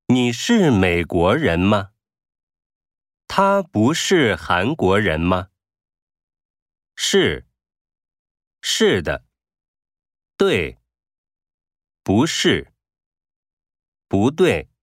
你是美国人吗？他不是韩国人吗？是，是的，对，不是，不对。